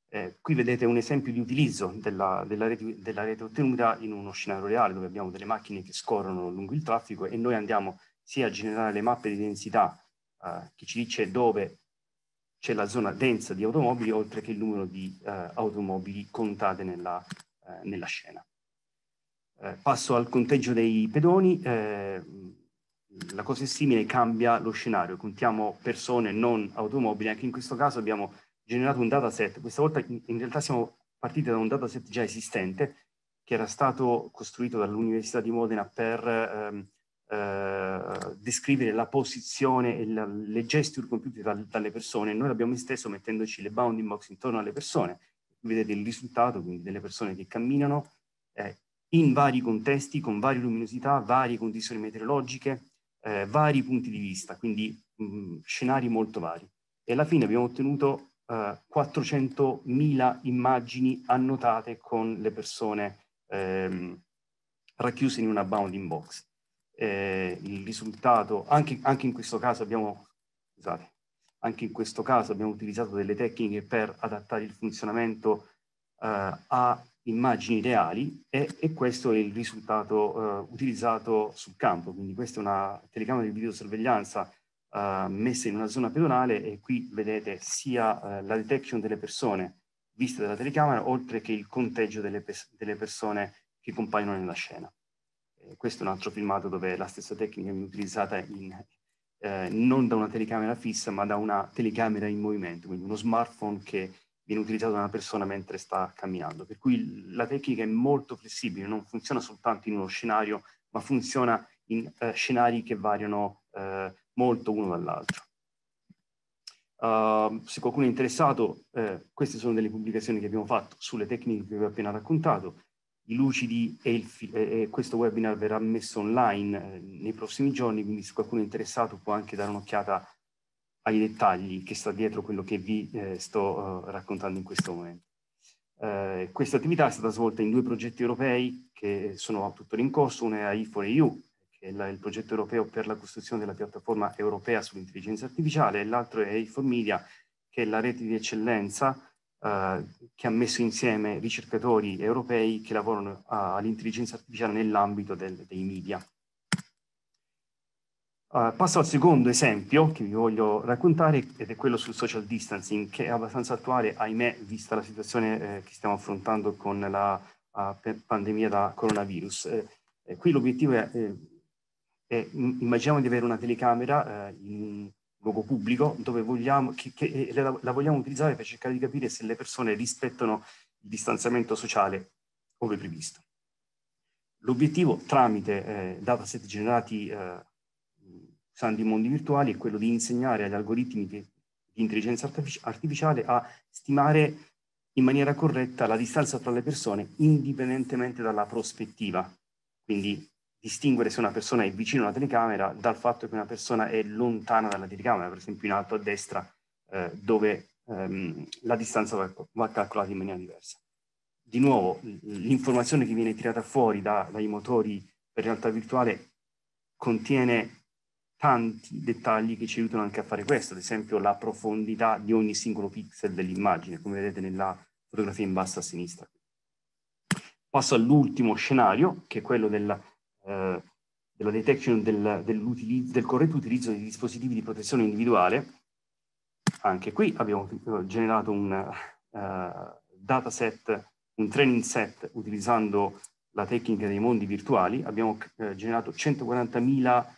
Qui vedete un esempio di utilizzo della rete ottenuta in uno scenario reale, dove abbiamo delle macchine che scorrono lungo il traffico e noi andiamo sia a generare le mappe di densità che ci dice dove c'è la zona densa di automobili, oltre che il numero di automobili contate nella scena. Passo al conteggio dei pedoni. La cosa è simile, cambia lo scenario, contiamo persone, non automobili. Anche in questo caso abbiamo generato un dataset. Questa volta in realtà siamo partiti da un dataset già esistente, che era stato costruito dall'Università di Modena per descrivere la posizione e le gesture compiute dalle persone. Noi l'abbiamo esteso mettendoci le bounding box intorno alle persone. Vedete il risultato, quindi delle persone che camminano in vari contesti, con varie luminosità, varie condizioni meteorologiche, vari punti di vista, quindi scenari molto vari. E alla fine abbiamo ottenuto 400.000 immagini annotate con le persone racchiuse in una bounding box. Il risultato, anche in questo caso abbiamo, scusate, anche in questo caso abbiamo utilizzato delle tecniche per adattare il funzionamento a immagini reali e questo è il risultato utilizzato sul campo. Quindi questa è una telecamera di videosorveglianza messa in una zona pedonale, e qui vedete sia la detection delle persone viste dalla telecamera, oltre che il conteggio delle persone che compaiono nella scena. Questo è un altro filmato dove la stessa tecnica viene utilizzata non da una telecamera fissa, ma da una telecamera in movimento, quindi uno smartphone che viene utilizzato da una persona mentre sta camminando. Per cui la tecnica è molto flessibile, non funziona soltanto in uno scenario, ma funziona in scenari che variano molto uno dall'altro. Se qualcuno è interessato, queste sono delle pubblicazioni che abbiamo fatto sulle tecniche che vi ho appena raccontato. I lucidi e questo webinar verrà messo online nei prossimi giorni, quindi se qualcuno è interessato può anche dare un'occhiata ai dettagli che sta dietro quello che vi sto raccontando in questo momento. Questa attività è stata svolta in 2 progetti europei che sono tuttora in corso. Uno è I4EU, che è il progetto europeo per la costruzione della piattaforma europea sull'intelligenza artificiale, e l'altro è I4Media, che è la rete di eccellenza che ha messo insieme ricercatori europei che lavorano all'intelligenza artificiale nell'ambito dei media. Passo al secondo esempio che vi voglio raccontare, ed è quello sul social distancing, che è abbastanza attuale, ahimè, vista la situazione che stiamo affrontando con la pandemia da coronavirus. Qui l'obiettivo è immaginiamo di avere una telecamera in un luogo pubblico dove vogliamo, la vogliamo utilizzare per cercare di capire se le persone rispettano il distanziamento sociale come previsto. L'obiettivo, tramite dataset generati usando i mondi virtuali, è quello di insegnare agli algoritmi di intelligenza artificiale a stimare in maniera corretta la distanza tra le persone indipendentemente dalla prospettiva. Quindi distinguere se una persona è vicino alla telecamera dal fatto che una persona è lontana dalla telecamera, per esempio in alto a destra, dove la distanza va calcolata in maniera diversa. Di nuovo, l'informazione che viene tirata fuori dai motori per realtà virtuale contiene tanti dettagli che ci aiutano anche a fare questo, ad esempio la profondità di ogni singolo pixel dell'immagine, come vedete nella fotografia in basso a sinistra. Passo all'ultimo scenario, che è quello della detection del corretto utilizzo dei dispositivi di protezione individuale. Anche qui abbiamo generato un dataset, un training set utilizzando la tecnica dei mondi virtuali. Abbiamo generato 140.000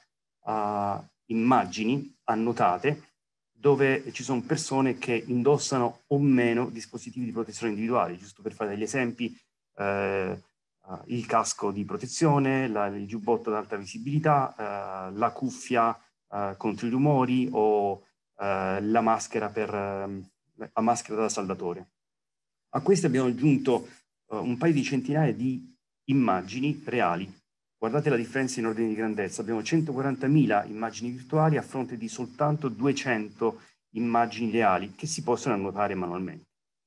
immagini annotate dove ci sono persone che indossano o meno dispositivi di protezione individuali. Giusto per fare degli esempi, il casco di protezione, il giubbotto ad alta visibilità, la cuffia contro i rumori o la maschera da saldatore. A queste abbiamo aggiunto un paio di centinaia di immagini reali. Guardate la differenza in ordine di grandezza. Abbiamo 140.000 immagini virtuali a fronte di soltanto 200 immagini reali che si possono annotare manualmente.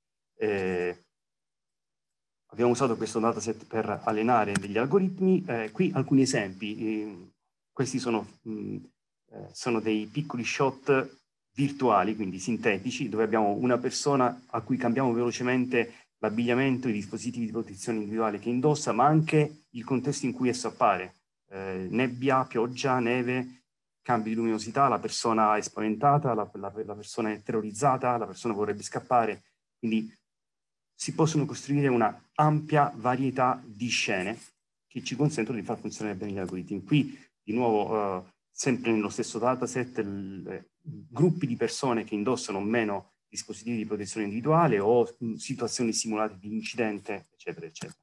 Abbiamo usato questo dataset per allenare degli algoritmi. Qui alcuni esempi. Questi sono dei piccoli shot virtuali, quindi sintetici, dove abbiamo una persona a cui cambiamo velocemente l'abbigliamento, i dispositivi di protezione individuale che indossa, ma anche il contesto in cui esso appare. Nebbia, pioggia, neve, cambi di luminosità, la persona è spaventata, la persona è terrorizzata, la persona vorrebbe scappare. Quindi si possono costruire una ampia varietà di scene che ci consentono di far funzionare bene gli algoritmi. Qui, di nuovo, sempre nello stesso dataset, gruppi di persone che indossano o meno dispositivi di protezione individuale o situazioni simulate di incidente, eccetera, eccetera.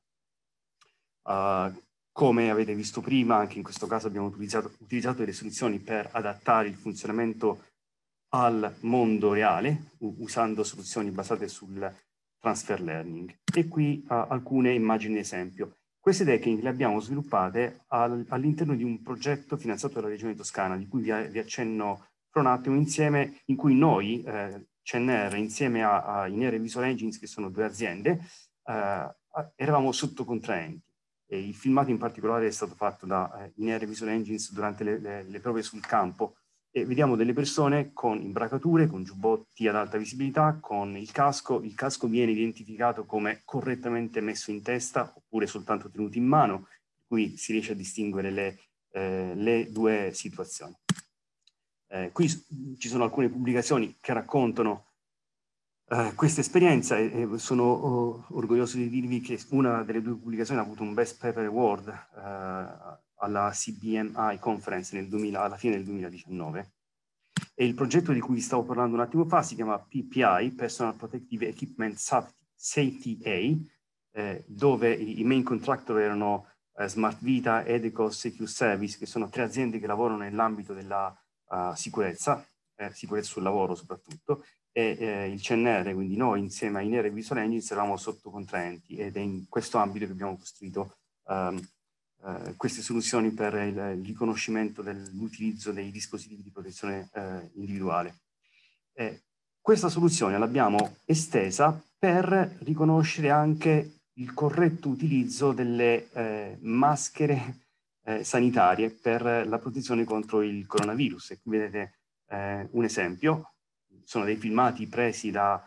Come avete visto prima, anche in questo caso abbiamo utilizzato delle soluzioni per adattare il funzionamento al mondo reale, usando soluzioni basate sul transfer learning. E qui alcune immagini di esempio. Queste tecniche le abbiamo sviluppate all'interno di un progetto finanziato dalla Regione Toscana, di cui vi accenno fra un attimo, insieme, in cui noi, CNR, insieme a Inere Visual Engines, che sono due aziende, eravamo sottocontraenti. E il filmato in particolare è stato fatto da Inere Visual Engines durante le prove sul campo, e vediamo delle persone con imbracature, con giubbotti ad alta visibilità, con il casco viene identificato come correttamente messo in testa oppure soltanto tenuto in mano, per cui si riesce a distinguere le due situazioni. Qui ci sono alcune pubblicazioni che raccontano questa esperienza, e sono orgoglioso di dirvi che una delle due pubblicazioni ha avuto un Best Paper Award alla CBMI Conference alla fine del 2019. E il progetto di cui vi stavo parlando un attimo fa si chiama PPI, Personal Protective Equipment Safety A, dove i main contractor erano Smart Vita, Edeco, Secure Service, che sono tre aziende che lavorano nell'ambito della sicurezza sul lavoro soprattutto, e il CNR, quindi noi insieme a Inere Visual Engines eravamo sottocontraenti, ed è in questo ambito che abbiamo costruito queste soluzioni per il riconoscimento dell'utilizzo dei dispositivi di protezione individuale. Questa soluzione l'abbiamo estesa per riconoscere anche il corretto utilizzo delle maschere sanitarie per la protezione contro il coronavirus. E qui vedete un esempio, sono dei filmati presi da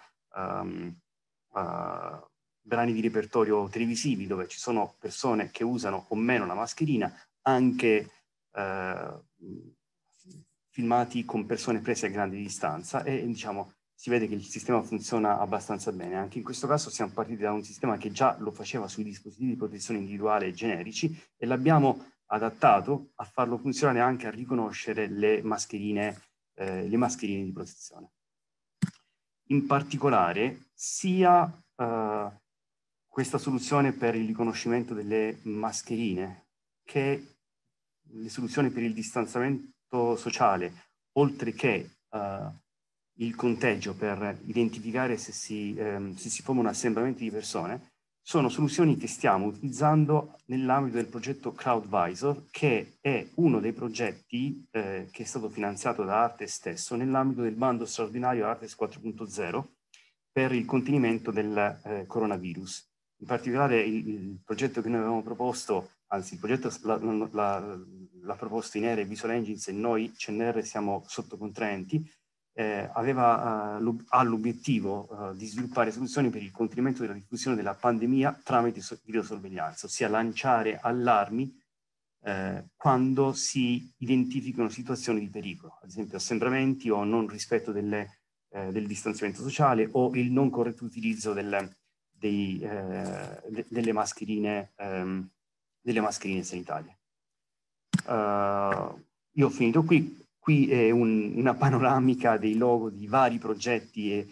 brani di repertorio televisivi dove ci sono persone che usano o meno la mascherina, anche filmati con persone prese a grande distanza, e diciamo si vede che il sistema funziona abbastanza bene. Anche in questo caso siamo partiti da un sistema che già lo faceva sui dispositivi di protezione individuale generici, e l'abbiamo adattato a farlo funzionare anche a riconoscere le mascherine di protezione. In particolare, sia questa soluzione per il riconoscimento delle mascherine che le soluzioni per il distanziamento sociale, oltre che il conteggio per identificare se si forma un assembramento di persone, sono soluzioni che stiamo utilizzando nell'ambito del progetto CrowdVisor, che è uno dei progetti che è stato finanziato da Artes stesso nell'ambito del bando straordinario Artes 4.0 per il contenimento del coronavirus. In particolare il progetto che noi avevamo proposto, anzi il progetto l'ha proposto Inere Visual Engines, e noi CNR siamo sottocontraenti, ha l'obiettivo di sviluppare soluzioni per il contenimento della diffusione della pandemia tramite videosorveglianza, ossia lanciare allarmi quando si identificano situazioni di pericolo, ad esempio assembramenti o non rispetto del distanziamento sociale, o il non corretto utilizzo delle mascherine sanitarie. Io ho finito qui. Qui è una panoramica dei logo di vari progetti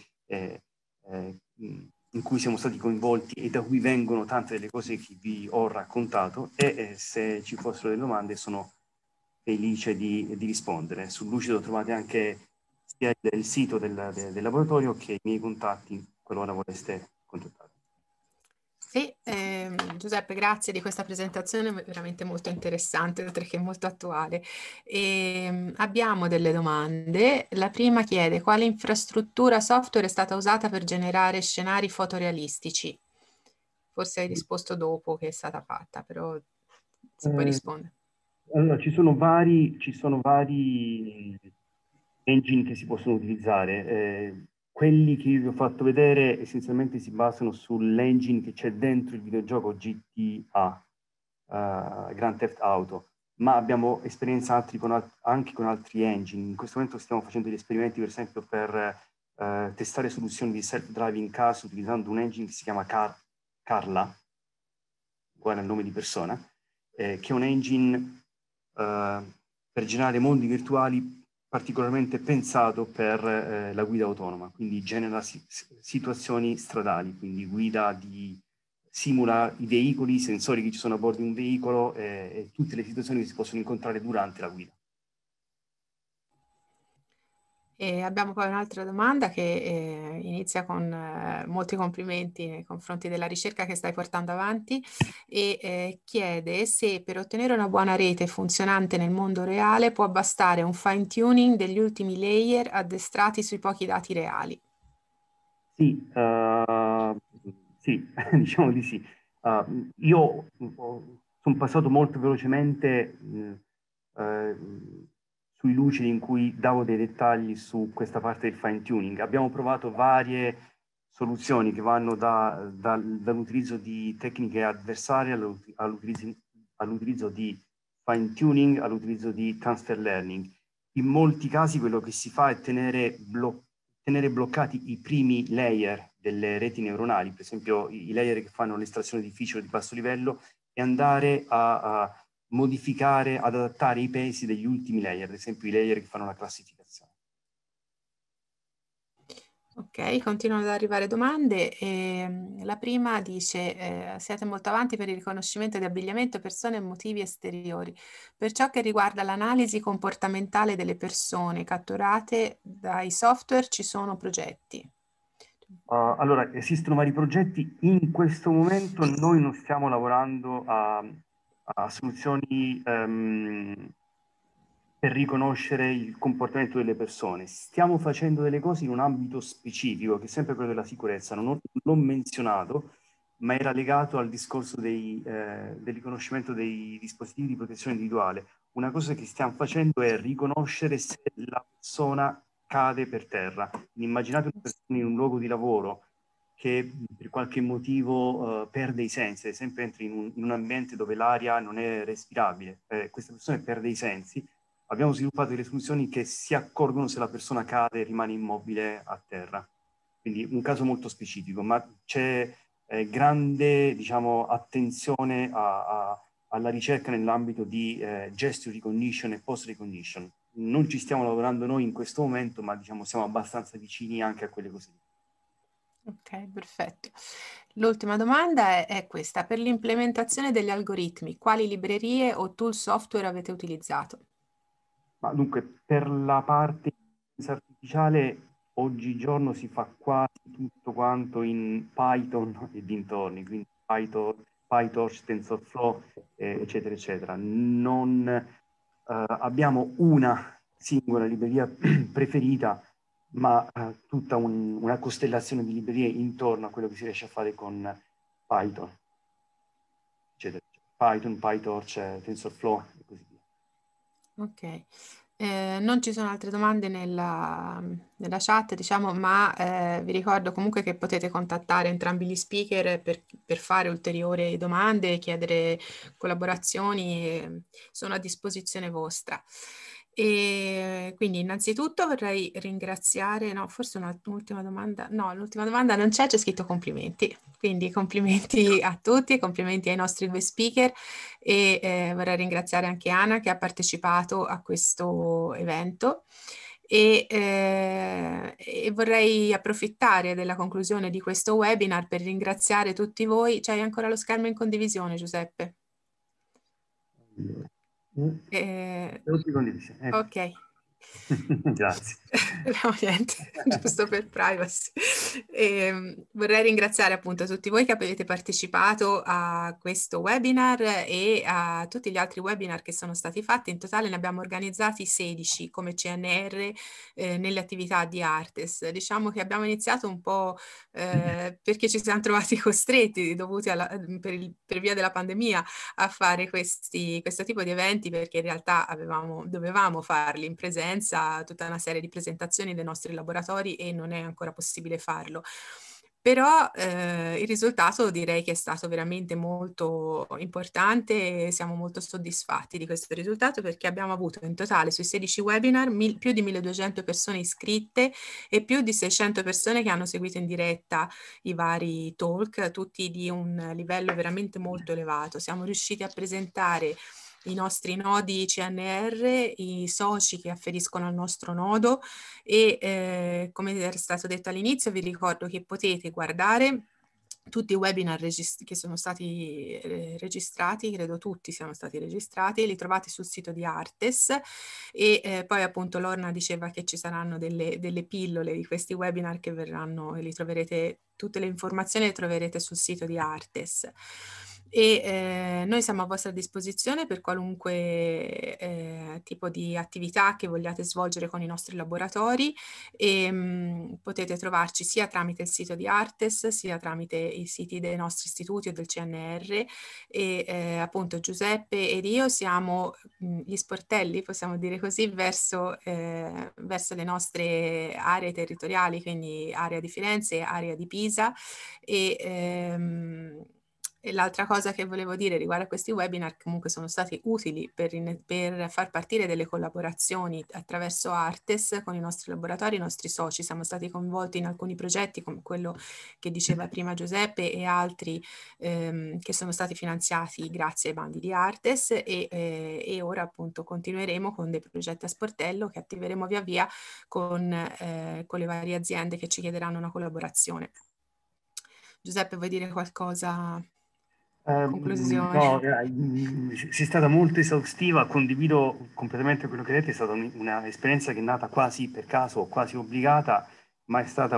in cui siamo stati coinvolti e da cui vengono tante delle cose che vi ho raccontato, e se ci fossero delle domande sono felice di rispondere. Sul Lucido trovate anche sia il sito del laboratorio che i miei contatti qualora voleste contattare. Sì, Giuseppe, grazie di questa presentazione veramente molto interessante, oltre che molto attuale. Abbiamo delle domande. La prima chiede: quale infrastruttura software è stata usata per generare scenari fotorealistici? Forse hai risposto dopo che è stata fatta, però si può rispondere. Allora, ci sono vari engine che si possono utilizzare. Quelli che vi ho fatto vedere essenzialmente si basano sull'engine che c'è dentro il videogioco GTA, Grand Theft Auto, ma abbiamo esperienza anche con altri engine. In questo momento stiamo facendo degli esperimenti, per esempio, per testare soluzioni di self-driving cars utilizzando un engine che si chiama Carla, uguale al nome di persona, che è un engine per generare mondi virtuali particolarmente pensato per la guida autonoma, quindi genera situazioni stradali, quindi simula i veicoli, i sensori che ci sono a bordo di un veicolo e tutte le situazioni che si possono incontrare durante la guida. E abbiamo poi un'altra domanda che inizia con molti complimenti nei confronti della ricerca che stai portando avanti e chiede se per ottenere una buona rete funzionante nel mondo reale può bastare un fine tuning degli ultimi layer addestrati sui pochi dati reali. Sì, sì, diciamo di sì. Io sono passato molto velocemente sui lucidi in cui davo dei dettagli su questa parte del fine tuning. Abbiamo provato varie soluzioni che vanno dall'utilizzo di tecniche avversarie all'utilizzo di fine tuning, all'utilizzo di transfer learning. In molti casi quello che si fa è tenere bloccati i primi layer delle reti neuronali, per esempio i layer che fanno l'estrazione difficile di basso livello, e andare a modificare, ad adattare i pesi degli ultimi layer, ad esempio i layer che fanno la classificazione. Ok, continuano ad arrivare domande. La prima dice, siete molto avanti per il riconoscimento di abbigliamento, persone e motivi esteriori. Per ciò che riguarda l'analisi comportamentale delle persone catturate dai software, ci sono progetti? Allora, esistono vari progetti. In questo momento noi non stiamo lavorando a soluzioni per riconoscere il comportamento delle persone. Stiamo facendo delle cose in un ambito specifico, che è sempre quello della sicurezza. Non l'ho menzionato, ma era legato al discorso del riconoscimento dei dispositivi di protezione individuale. Una cosa che stiamo facendo è riconoscere se la persona cade per terra. Immaginate una persona in un luogo di lavoro che per qualche motivo perde i sensi, ad esempio entra in un ambiente dove l'aria non è respirabile, questa persona perde i sensi. Abbiamo sviluppato delle soluzioni che si accorgono se la persona cade e rimane immobile a terra. Quindi un caso molto specifico, ma c'è grande, diciamo, attenzione alla ricerca nell'ambito di gesture recognition e post recognition. Non ci stiamo lavorando noi in questo momento, ma diciamo siamo abbastanza vicini anche a quelle cose. Ok, perfetto. L'ultima domanda è questa. Per l'implementazione degli algoritmi, quali librerie o tool software avete utilizzato? Ma dunque, per la parte di intelligenza artificiale, oggigiorno si fa quasi tutto quanto in Python e dintorni, quindi PyTorch, TensorFlow, eccetera, eccetera. Non abbiamo una singola libreria preferita, ma tutta una costellazione di librerie intorno a quello che si riesce a fare con Python, eccetera. Python, PyTorch, TensorFlow e così via. Ok, non ci sono altre domande nella chat, diciamo, ma vi ricordo comunque che potete contattare entrambi gli speaker per fare ulteriori domande, chiedere collaborazioni, sono a disposizione vostra. E quindi innanzitutto vorrei ringraziare, no, forse un'ultima domanda, no, l'ultima domanda non c'è scritto complimenti, quindi complimenti a tutti, complimenti ai nostri due speaker e vorrei ringraziare anche Anna che ha partecipato a questo evento e vorrei approfittare della conclusione di questo webinar per ringraziare tutti voi. C'hai ancora lo schermo in condivisione, Giuseppe? Ok. Grazie. No, niente, giusto per privacy. Vorrei ringraziare appunto tutti voi che avete partecipato a questo webinar e a tutti gli altri webinar che sono stati fatti. In totale ne abbiamo organizzati 16 come CNR nelle attività di Artes. Diciamo che abbiamo iniziato un po' perché ci siamo trovati costretti, dovuti per via della pandemia, a fare questo tipo di eventi perché in realtà dovevamo farli in presenza conferenza, tutta una serie di presentazioni dei nostri laboratori e non è ancora possibile farlo. Però il risultato direi che è stato veramente molto importante e siamo molto soddisfatti di questo risultato, perché abbiamo avuto in totale sui 16 webinar più di 1200 persone iscritte e più di 600 persone che hanno seguito in diretta i vari talk, tutti di un livello veramente molto elevato. Siamo riusciti a presentare i nostri nodi CNR, i soci che afferiscono al nostro nodo e come era stato detto all'inizio vi ricordo che potete guardare tutti i webinar che sono stati registrati, credo tutti siano stati registrati, li trovate sul sito di Artes e poi appunto Lorna diceva che ci saranno delle pillole di questi webinar che verranno e li troverete, tutte le informazioni le troverete sul sito di Artes. E noi siamo a vostra disposizione per qualunque tipo di attività che vogliate svolgere con i nostri laboratori e potete trovarci sia tramite il sito di Artes sia tramite i siti dei nostri istituti o del CNR e appunto Giuseppe ed io siamo gli sportelli, possiamo dire così, verso le nostre aree territoriali, quindi area di Firenze e area di Pisa e l'altra cosa che volevo dire riguardo a questi webinar, comunque sono stati utili per far partire delle collaborazioni attraverso Artes con i nostri laboratori, i nostri soci. Siamo stati coinvolti in alcuni progetti come quello che diceva prima Giuseppe e altri che sono stati finanziati grazie ai bandi di Artes e ora appunto continueremo con dei progetti a sportello che attiveremo via via con le varie aziende che ci chiederanno una collaborazione. Giuseppe, vuoi dire qualcosa? Conclusione. No, sei stata molto esaustiva, condivido completamente quello che hai detto, è stata un'esperienza che è nata quasi per caso, quasi obbligata, ma è stata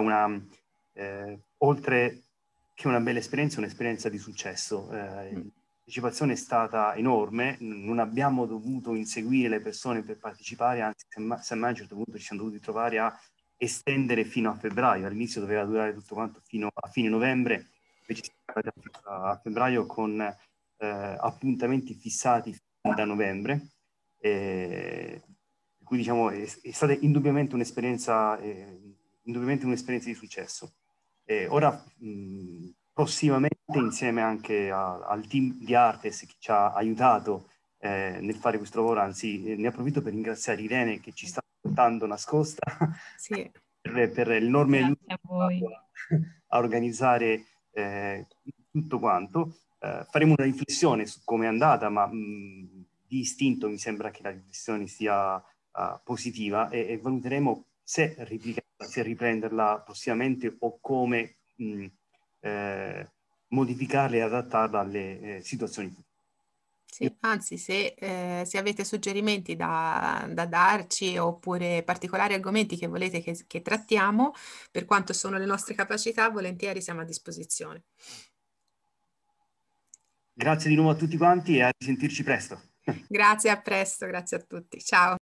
oltre che una bella esperienza, un'esperienza di successo. La partecipazione è stata enorme, non abbiamo dovuto inseguire le persone per partecipare, anzi semmai a un certo punto ci siamo dovuti trovare a estendere fino a febbraio, all'inizio doveva durare tutto quanto fino a fine novembre, invece siamo arrivati a febbraio con appuntamenti fissati da novembre, per cui diciamo è stata indubbiamente un'esperienza di successo. Ora prossimamente insieme anche al team di Artes che ci ha aiutato nel fare questo lavoro, anzi ne approfitto per ringraziare Irene che ci sta portando nascosta sì. per l'enorme aiuto a voi a organizzare tutto quanto. Faremo una riflessione su come è andata, ma di istinto mi sembra che la riflessione sia positiva e valuteremo se riprenderla prossimamente o come modificarla e adattarla alle situazioni future. Sì, anzi, se avete suggerimenti da darci oppure particolari argomenti che volete che trattiamo, per quanto sono le nostre capacità, volentieri siamo a disposizione. Grazie di nuovo a tutti quanti e a risentirci presto. Grazie, a presto, grazie a tutti. Ciao.